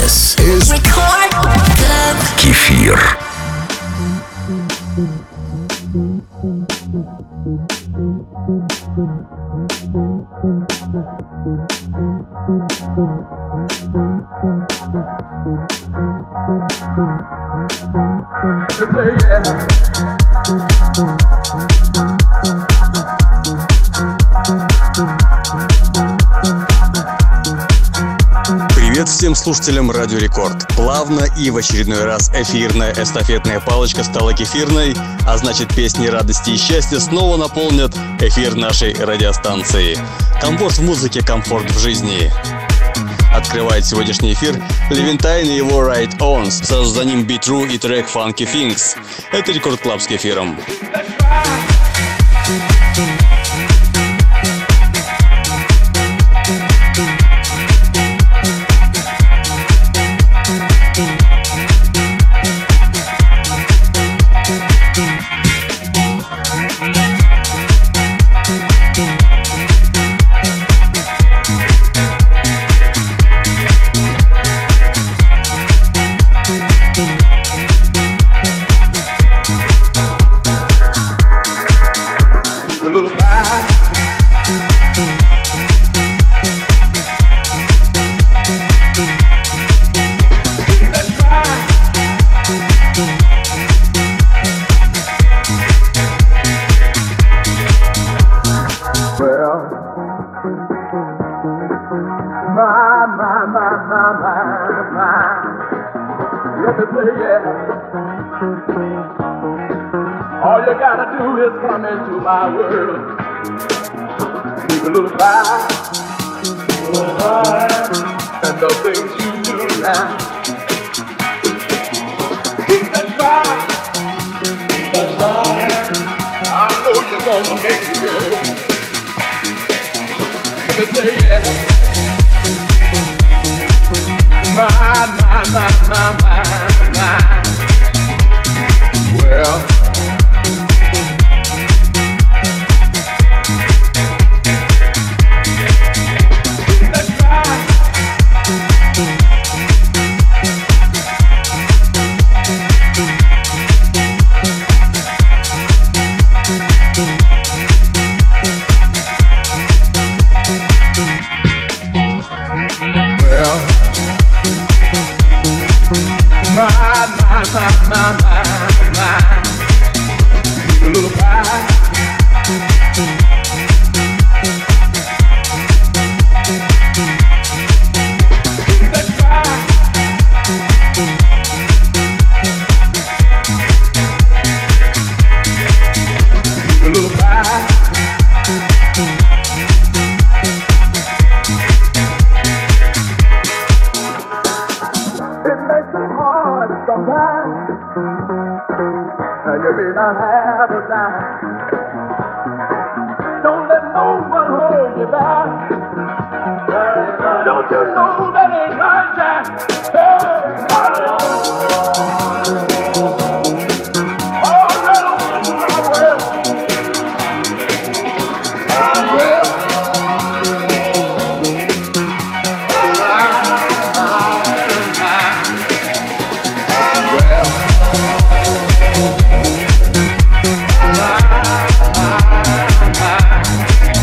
This is Record Club Кефир. Привет всем слушателям Радио Рекорд. Плавно и в очередной раз эфирная эстафетная палочка стала кефирной, а значит песни радости и счастья снова наполнят эфир нашей радиостанции. Комфорт в музыке, комфорт в жизни. Открывает сегодняшний эфир Левентайн и его Right Ons, за ним Be True и трек Funky Things. Это Рекорд Клаб с кефиром. All you gotta do is come into my world. Keep a little fire, and the things you do now. Keep that fire, I know you're gonna make it good. Let me say yeah. My. Well. A little pie. That pie. A little pie. It makes it hard sometimes. And you may not have a dime. Don't let no one hold you back. Don't you know that ain't right, Jack? Hey, all right on my way.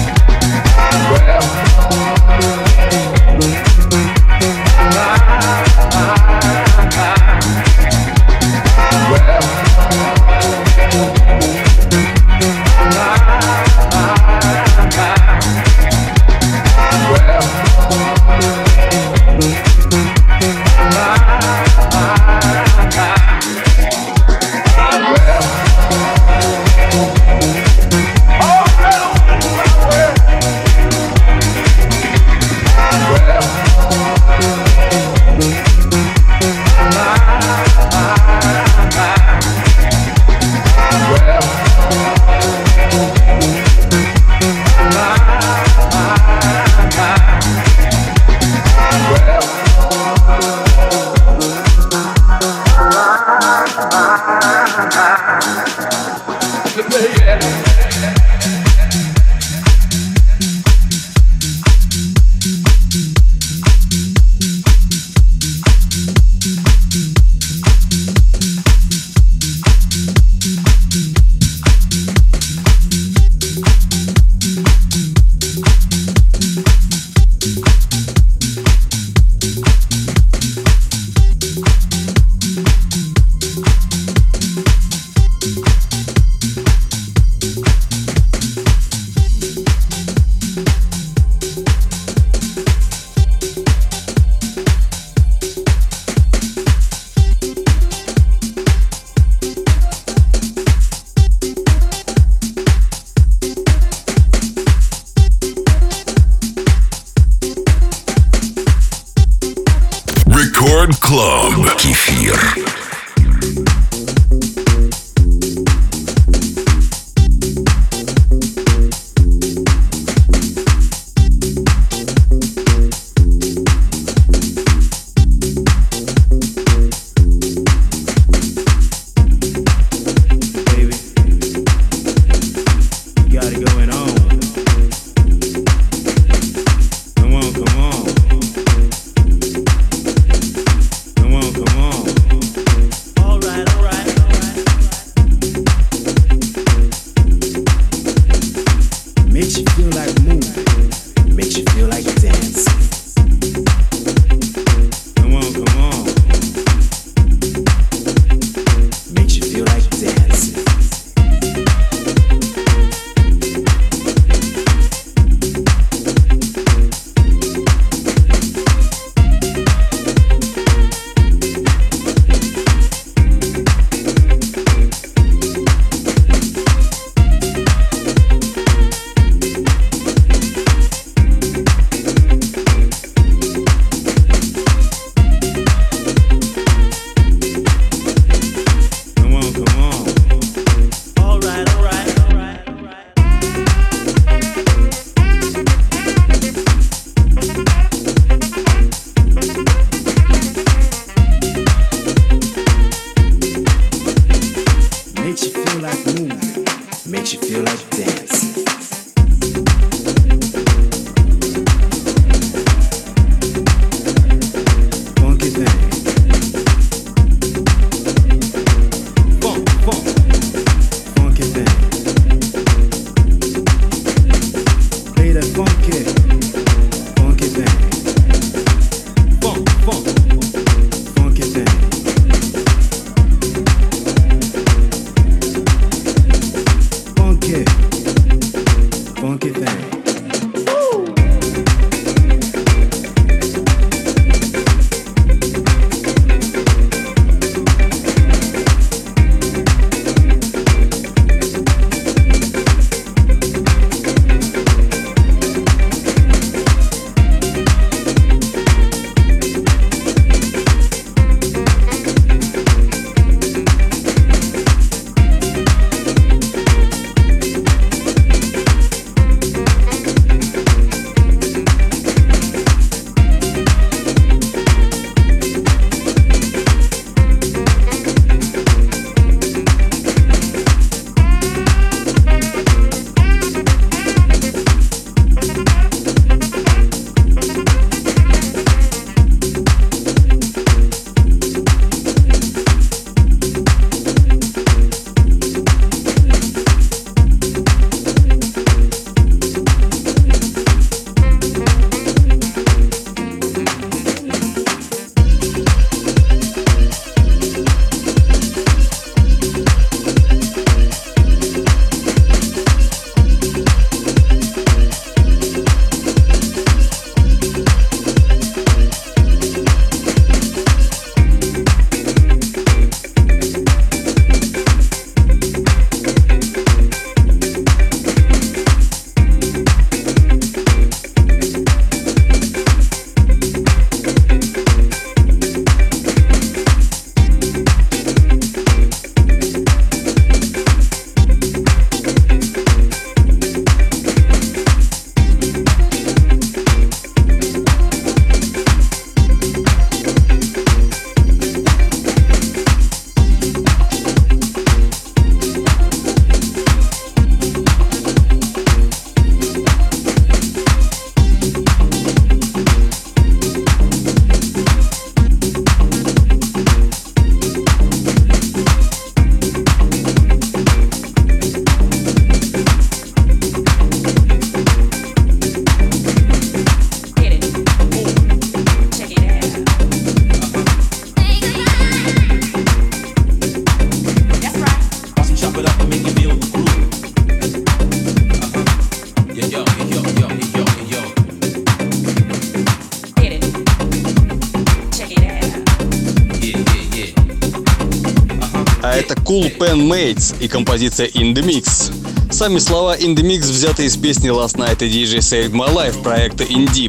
Well, Record Club. Кефир. А это Cool Pen Mates и композиция In The Mix. Сами слова In The Mix взяты из песни Last Night и DJ Saved My Life проекта In Deep.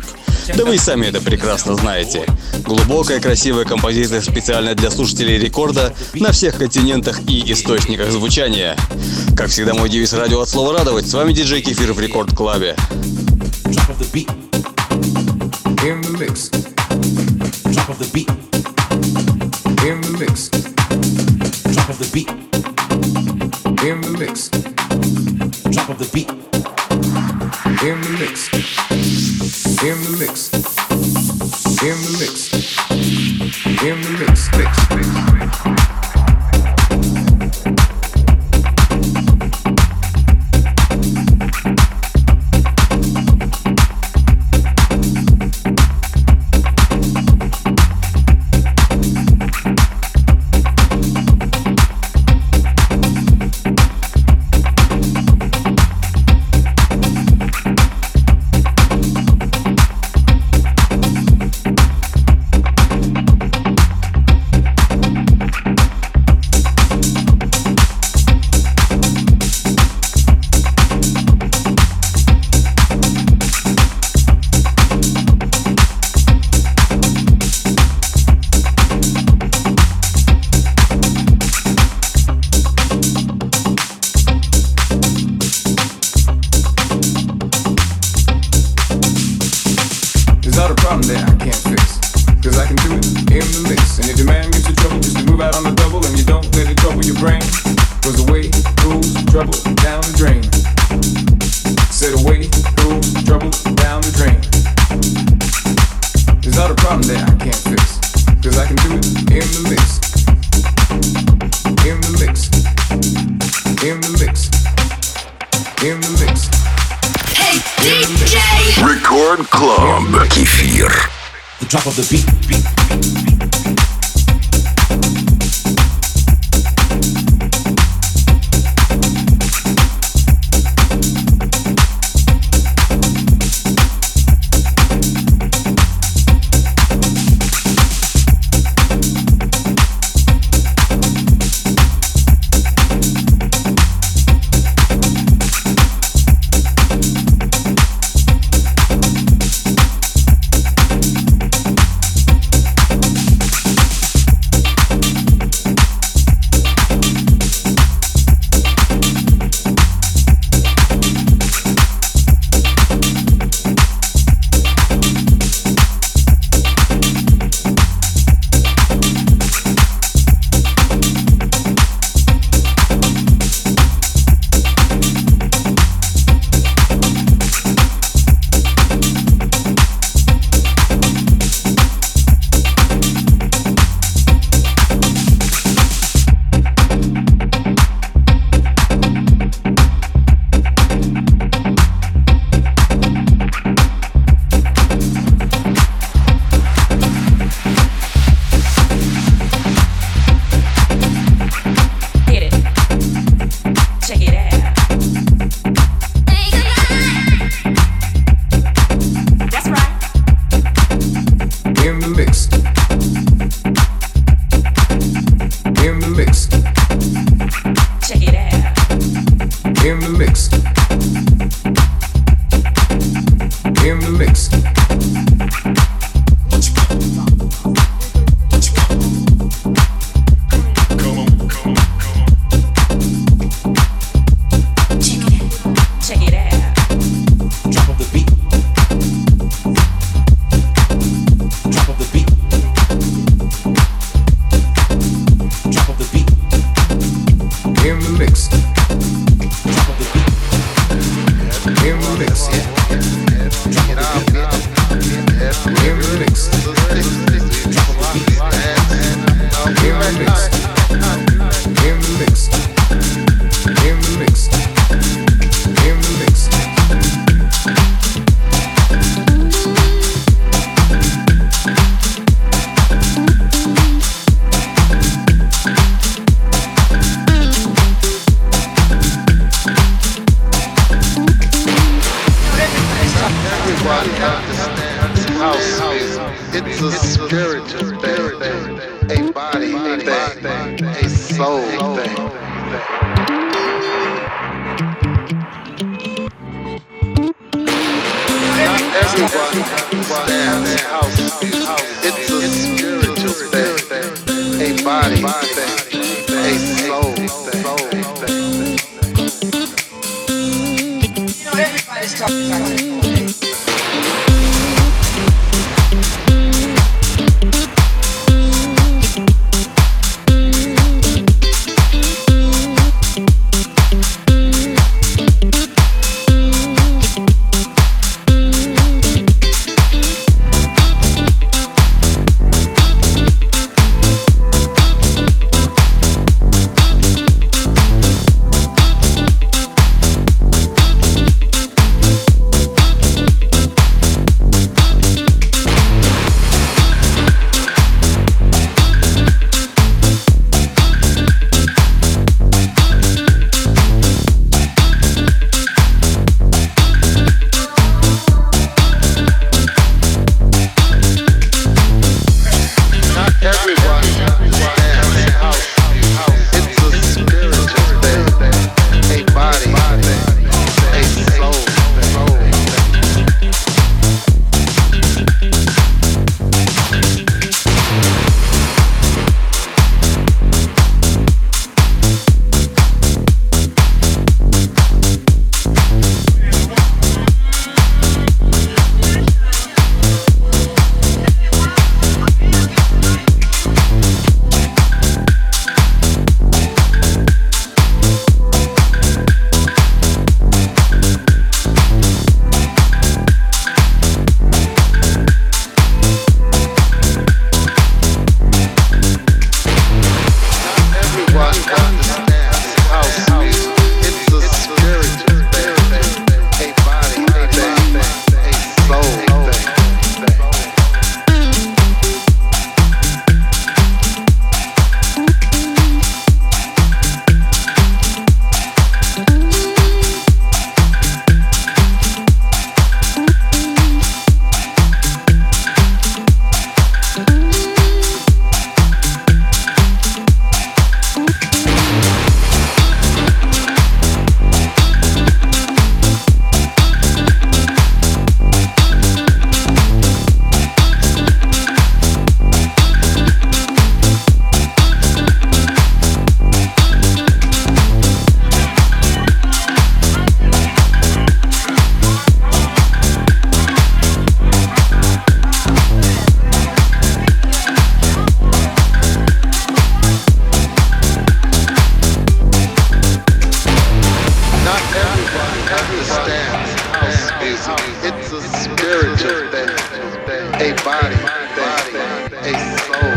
Да вы и сами это прекрасно знаете. Глубокая, красивая композиция специально для слушателей рекорда на всех континентах и источниках звучания. Как всегда, мой девиз радио от слова радовать. С вами диджей Кефир в Рекорд Клабе. In the mix. Drop of the beat. In the mix. Drop of the beat. In the mix. Drop of the beat. In the mix. In the mix. In the mix. In the mix. Mix. Record Club. Кефир. The drop of the beat.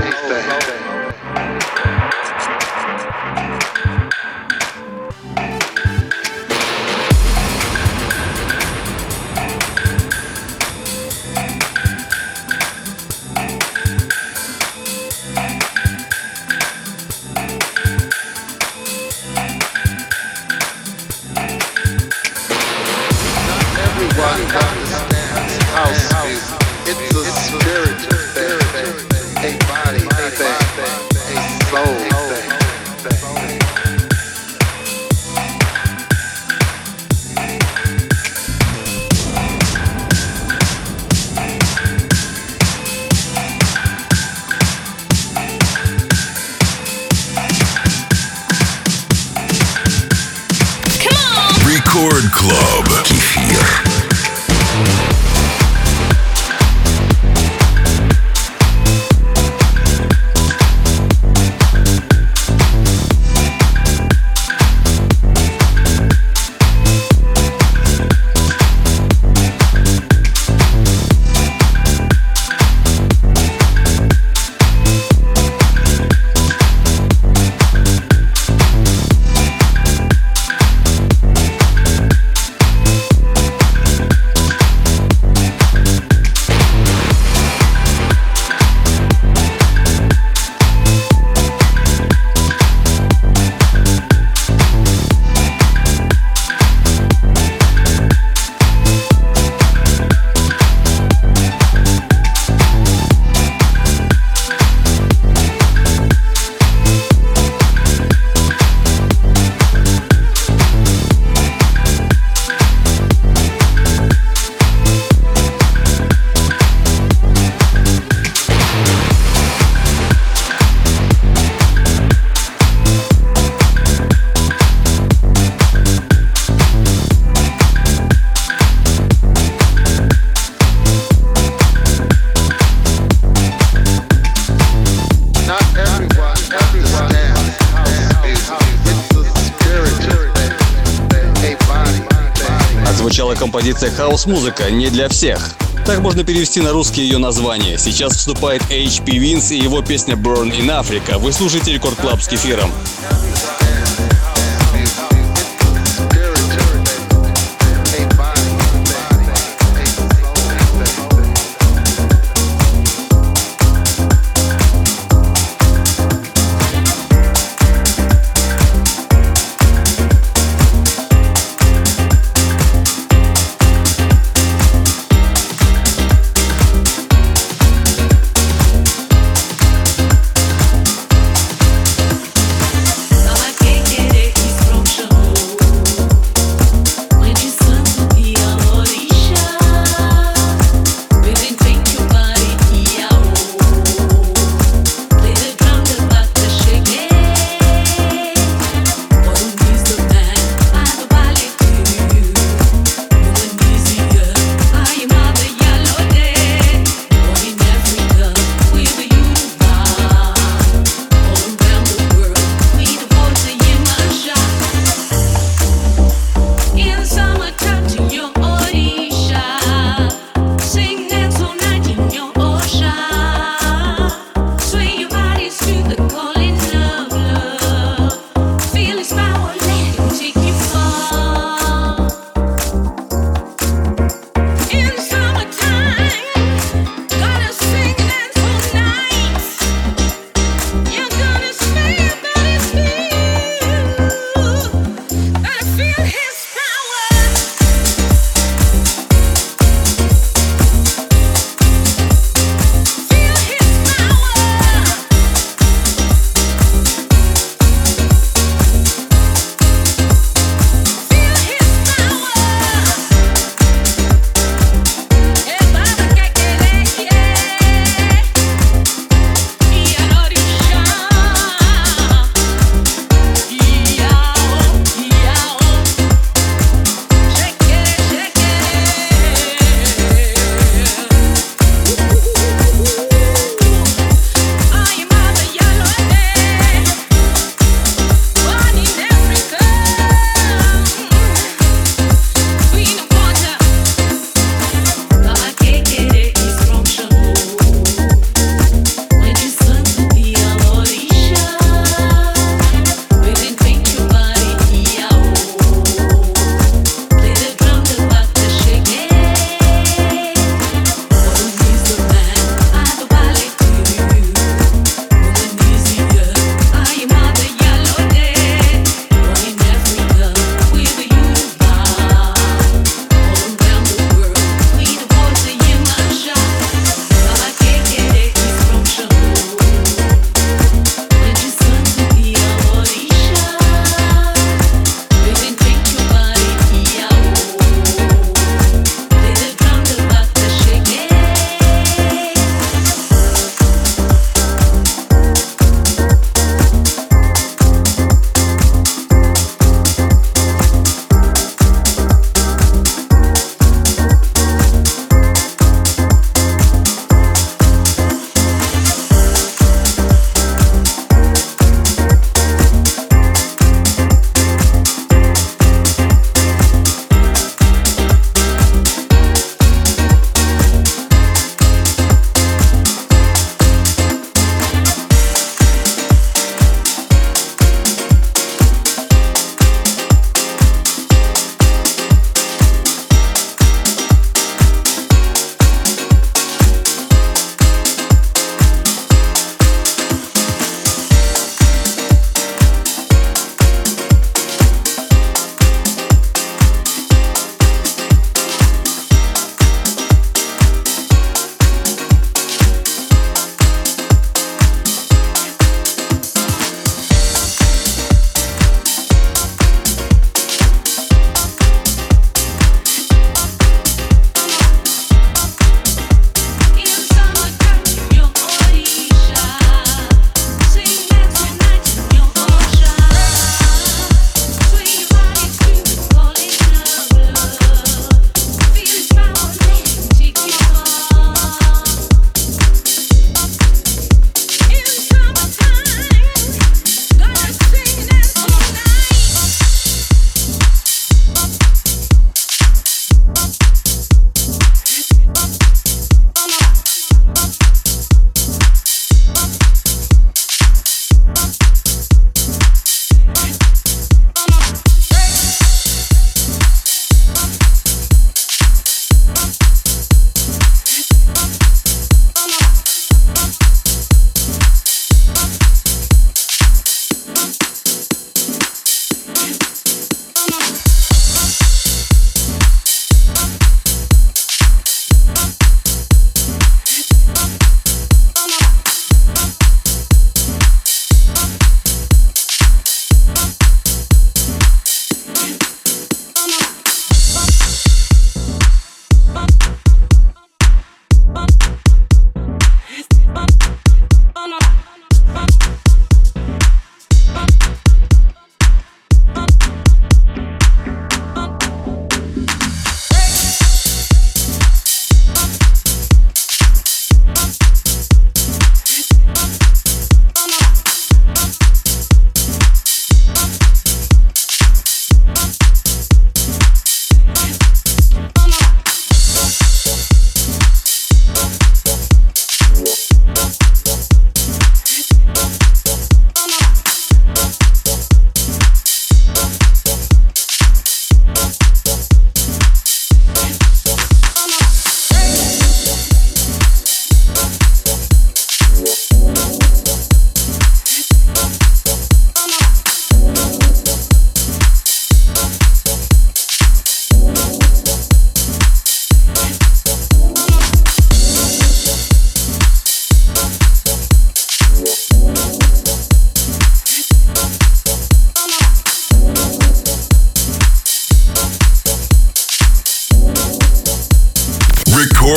Record Club. Кефир. Звучала композиция «Хаус-музыка» не для всех. Так можно перевести на русский ее название. Сейчас вступает HP Vince и его песня «Born in Africa». Вы слушаете Рекорд Клаб с Кефиром. I like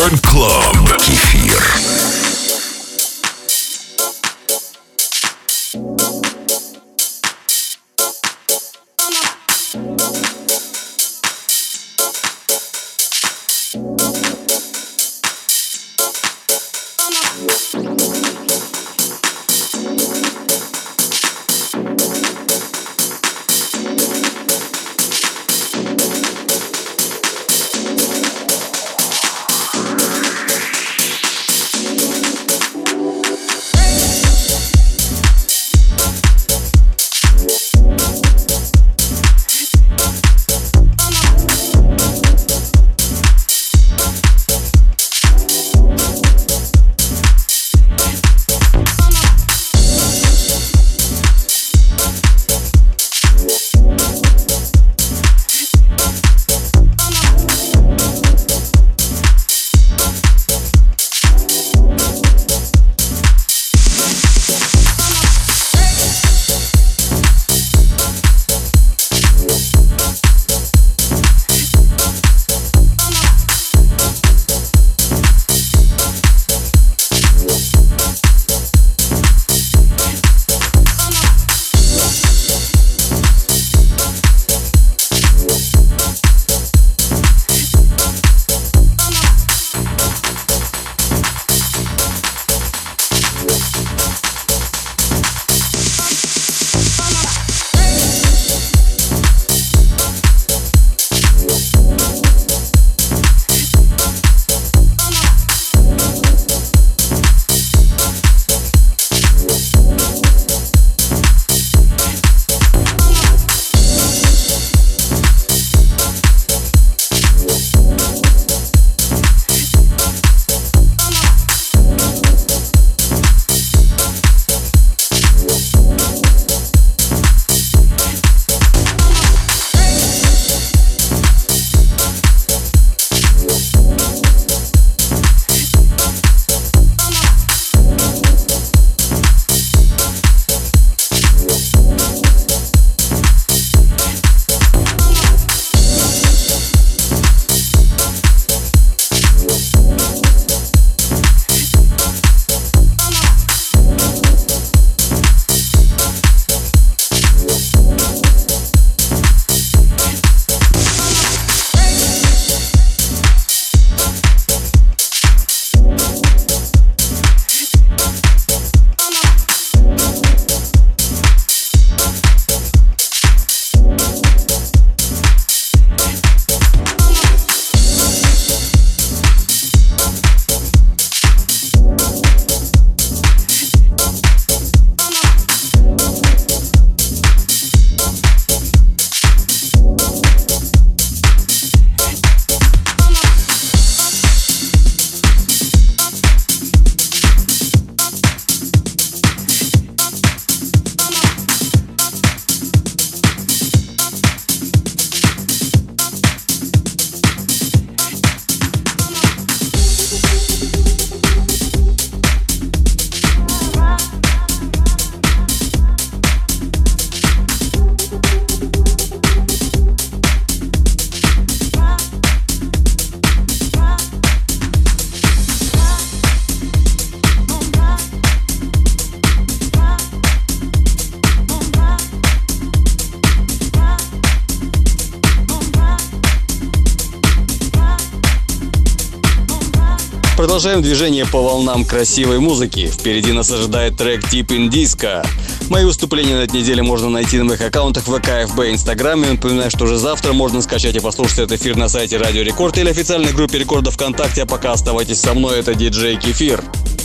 Record Club. Кефир. Продолжаем движение по волнам красивой музыки. Впереди нас ожидает трек Deep in Disco. Мои выступления на этой неделе можно найти на моих аккаунтах ВК, ФБ, Инстаграме. Напоминаю, что уже завтра можно скачать и послушать этот эфир на сайте Радио Рекорд или официальной группе Рекорда ВКонтакте. А пока оставайтесь со мной, это диджей Кефир.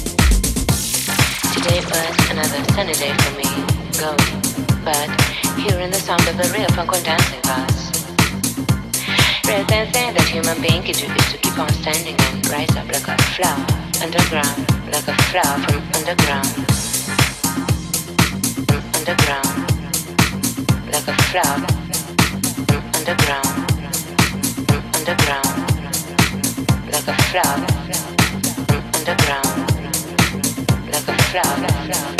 Realizing that human being is to keep on standing and rise up like a flower underground, like a flower from underground, like a flower from underground, like a flower from underground, like a flower.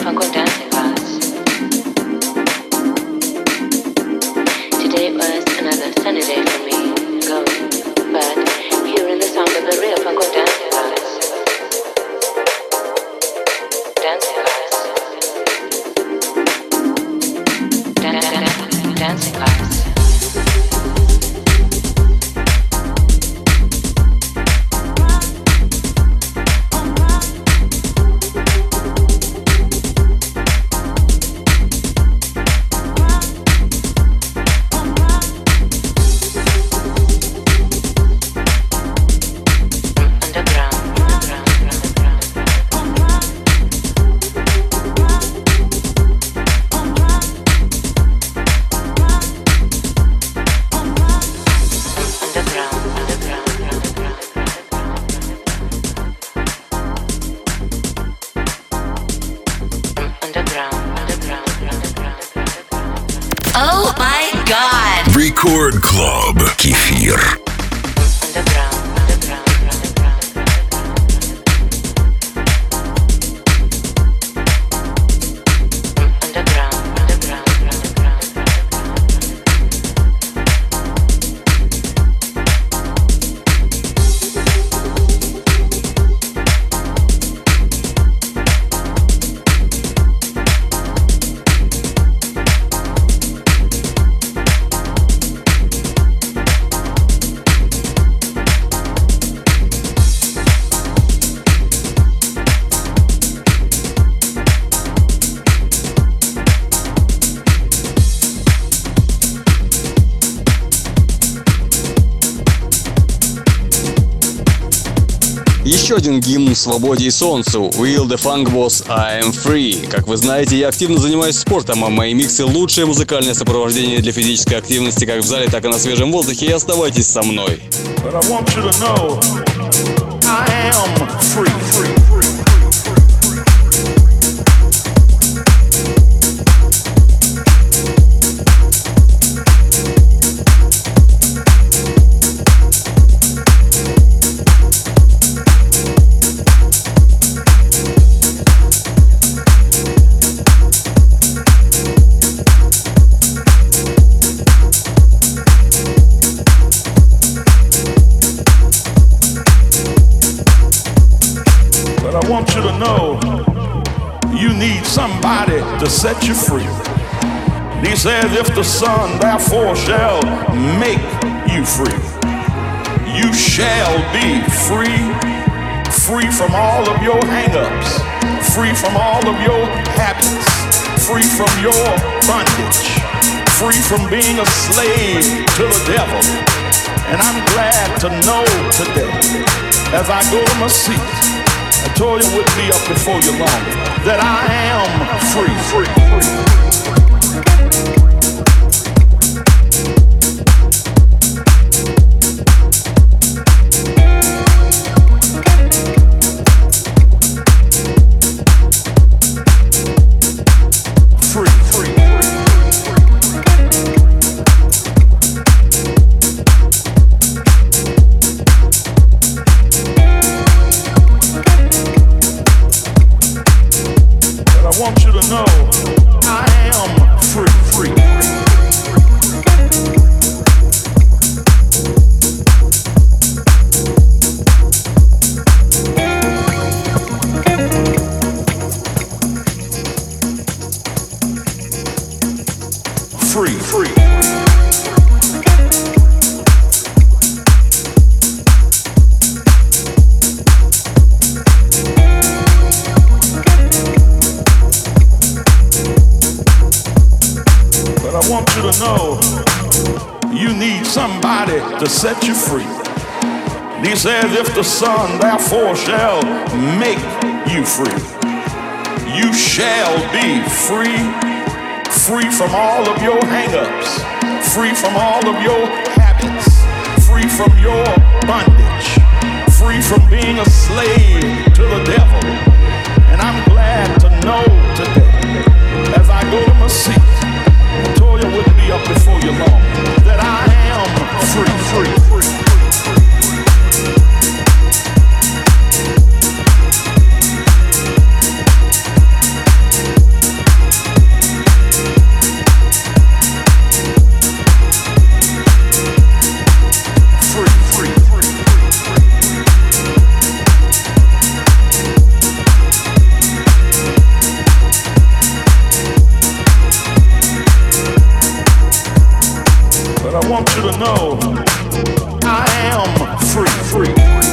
funk or dancing class. Today was another sunny day for me, going, but hearing the sound of the real funk or dancing class. Dancing class. Dancing class. Oh my God! Record Club. Кефир. Еще один гимн свободе и солнцу. Will the Funk Boss I Am Free. Как вы знаете, я активно занимаюсь спортом, а мои миксы — лучшее музыкальное сопровождение для физической активности как в зале, так и на свежем воздухе. И оставайтесь со мной. I want you to know you need somebody to set you free. He says, if the Son therefore shall make you free, you shall be free, free from all of your hang-ups, free from all of your habits, free from your bondage, free from being a slave to the devil. And I'm glad to know today, as I go to my seat, I told you it would be up before you long, that I am free. I want you to know I am free. Free. I want you to know you need somebody to set you free. He says, if the Son therefore shall make you free, you shall be free, free from all of your hang-ups, free from all of your habits, free from your bondage, free from being a slave to the devil. And I'm glad to know today, as I go to my seat, I told you it wouldn't be up before you long, that I am free. want you to know I am free, free.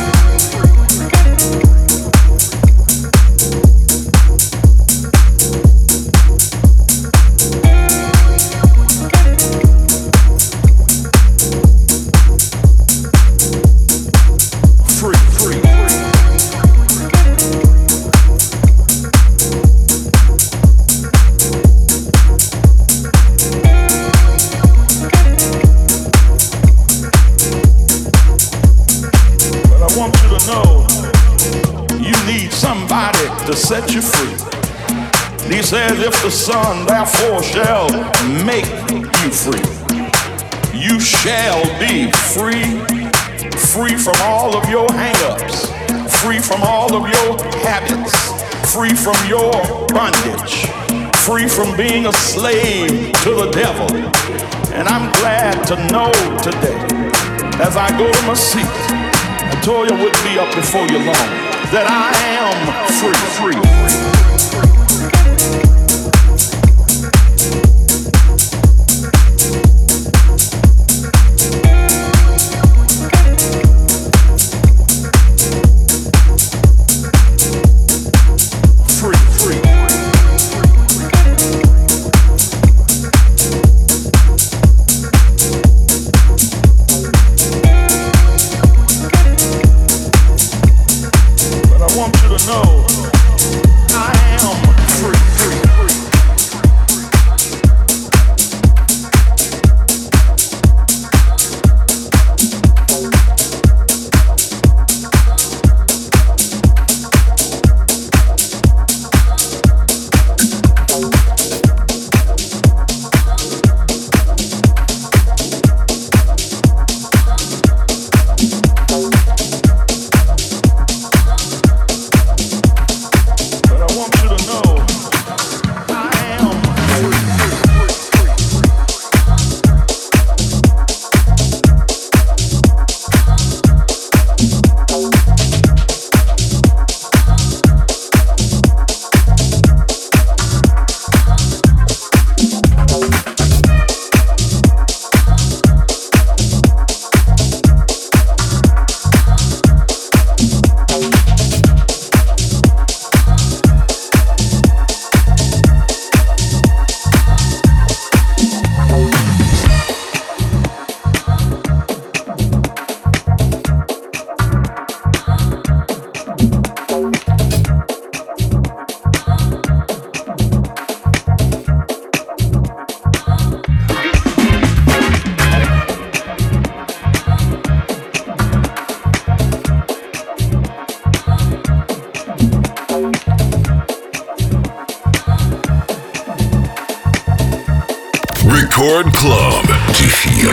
To set you free. He says, if the Son therefore shall make you free, you shall be free, free from all of your hang-ups, free from all of your habits, free from your bondage, free from being a slave to the devil. And I'm glad to know today, as I go to my seat, I told you I wouldn't be up before you long, that I am free, free. Record Club. Кефир.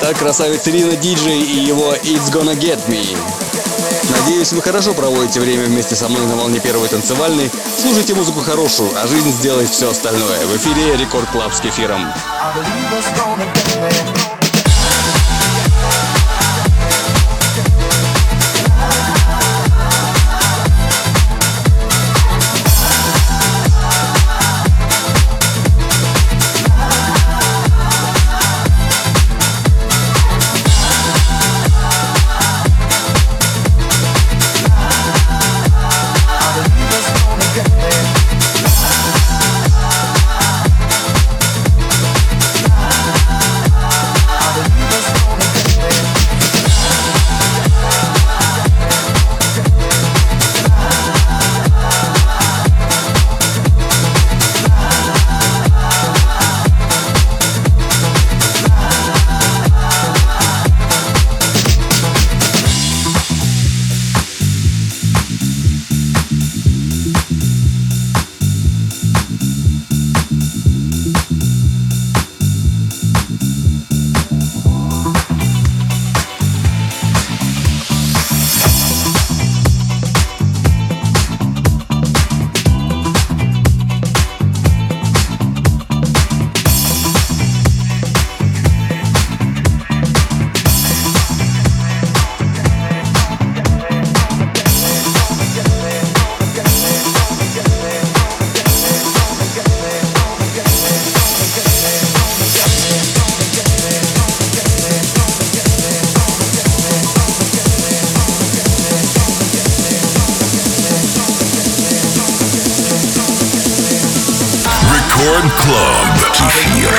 Итак, красавец Рина Диджей и его It's Gonna Get Me. Надеюсь, вы хорошо проводите время вместе со мной на волне первой танцевальной. Слушайте музыку хорошую, а жизнь сделает все остальное. В эфире Рекорд Клаб с Кефиром. Рекорд Клаб. Кефир.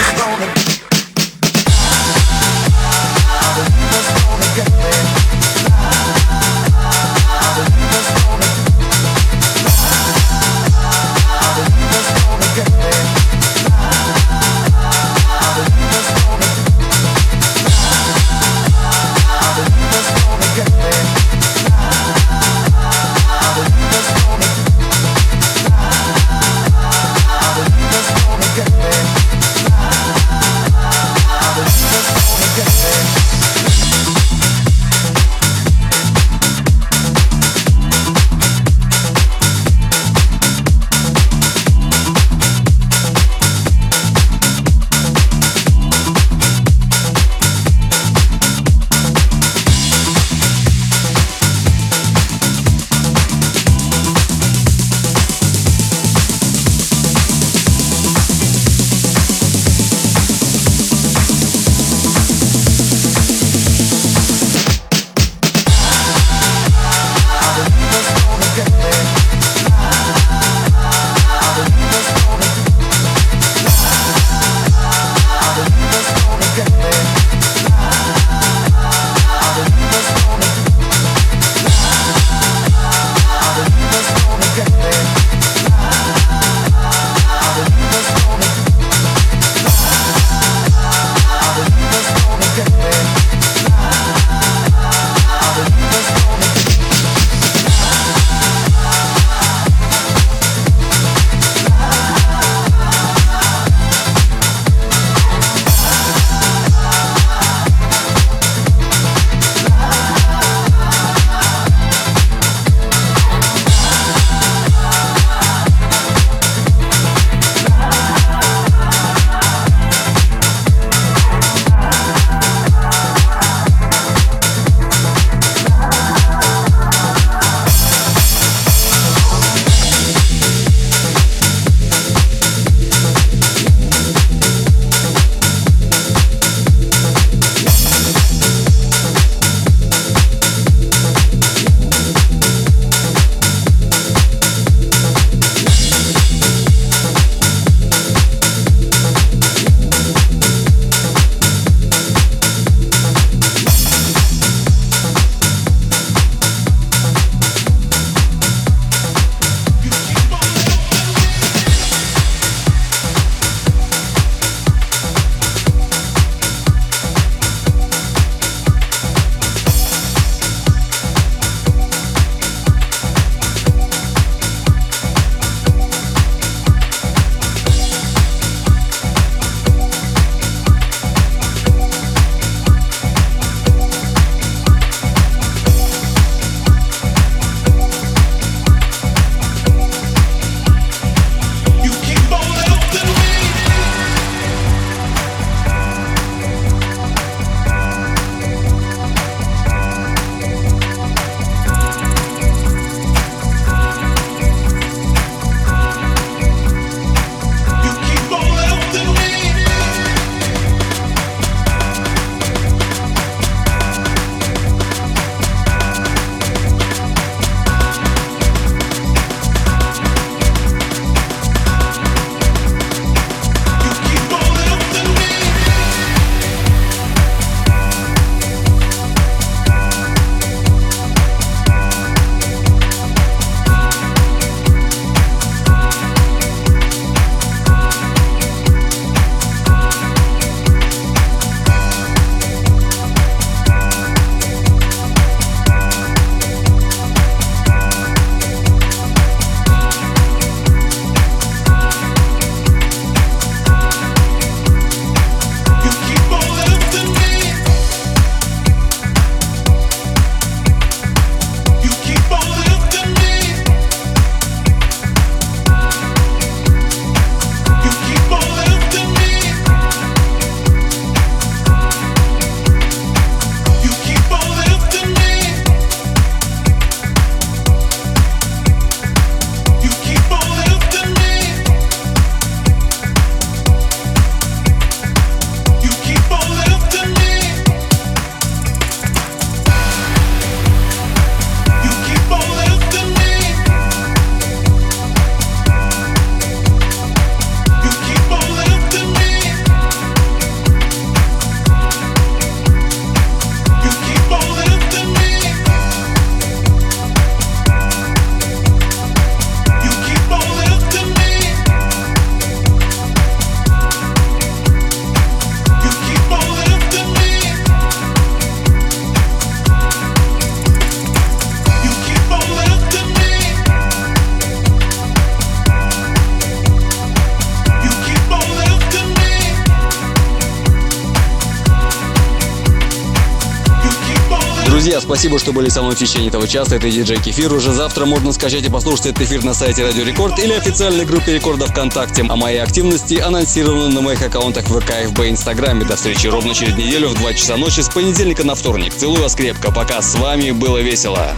Спасибо, что были со мной в течение этого часа. Это диджей Кефир. Уже завтра можно скачать и послушать этот эфир на сайте Радио Рекорд или официальной группе Рекорда ВКонтакте. А мои активности анонсированы на моих аккаунтах ВК, ФБ и Инстаграме. До встречи ровно через неделю в 2 часа ночи с понедельника на вторник. Целую вас крепко. Пока. С вами было весело.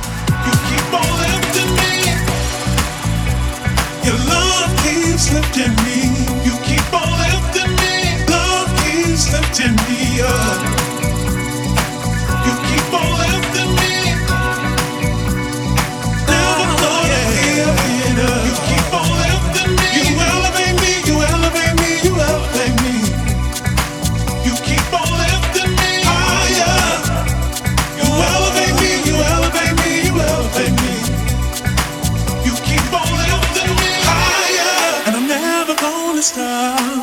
Lifting me, you keep on lifting me. Love keeps lifting me up. You keep on lifting me. Never thought I'd give it up. You keep on lifting me. You elevate me, you elevate me, you elevate me. You keep on lifting me higher. You elevate me, you elevate me, you elevate me. You keep on lifting me higher. And I'm never gonna stop.